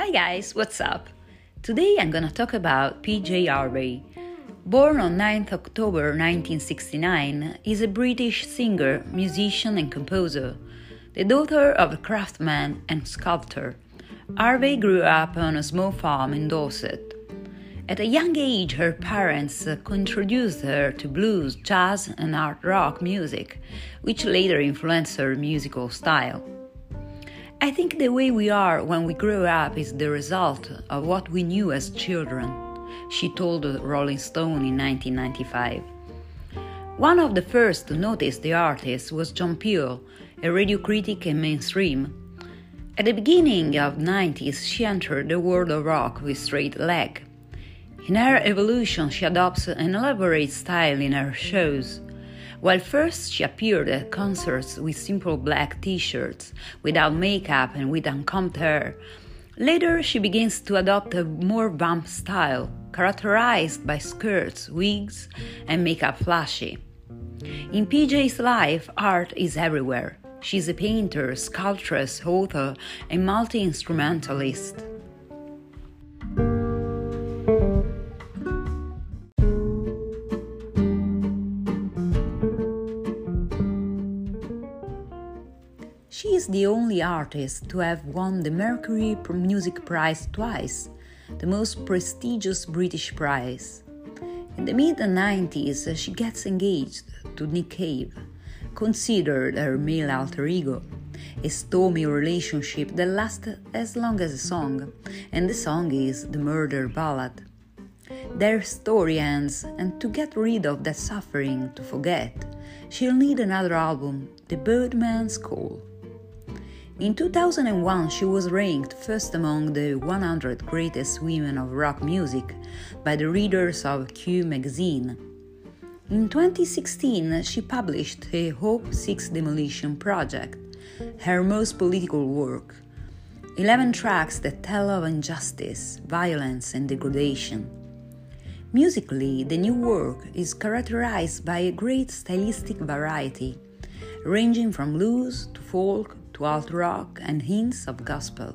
Hi guys, what's up? Today I'm gonna talk about PJ Harvey. Born on 9th October 1969, is a British singer, musician and composer. The daughter of a craftsman and sculptor, Harvey grew up on a small farm in Dorset. At a young age, her parents introduced her to blues, jazz and art rock music, which later influenced her musical style. I think the way we are when we grow up is the result of what we knew as children, she told Rolling Stone in 1995. One of the first to notice the artist was John Peel, a radio critic and mainstream. At the beginning of the 90s, she entered the world of rock with Straight Leg. In her evolution, she adopts an elaborate style in her shows. While first she appeared at concerts with simple black t-shirts, without makeup and with uncombed hair, later she begins to adopt a more vamp style, characterized by skirts, wigs, and makeup flashy. In PJ's life, art is everywhere. She's a painter, sculptress, author, and multi-instrumentalist. She is the only artist to have won the Mercury Music Prize twice, the most prestigious British prize. In the mid-90s, she gets engaged to Nick Cave, considered her male alter ego, a stormy relationship that lasts as long as a song, and the song is The Murder Ballad. Their story ends, and to get rid of that suffering, to forget, she'll need another album, The Birdman's Call. In 2001, she was ranked first among the 100 greatest women of rock music by the readers of Q magazine. In 2016, she published a Hope Six Demolition Project, her most political work, 11 tracks that tell of injustice, violence, and degradation. Musically, the new work is characterized by a great stylistic variety, ranging from blues to folk to alt rock and hints of gospel.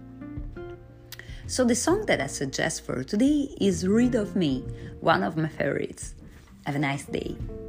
So the song that I suggest for today is Rid of Me, one of my favorites. Have a nice day.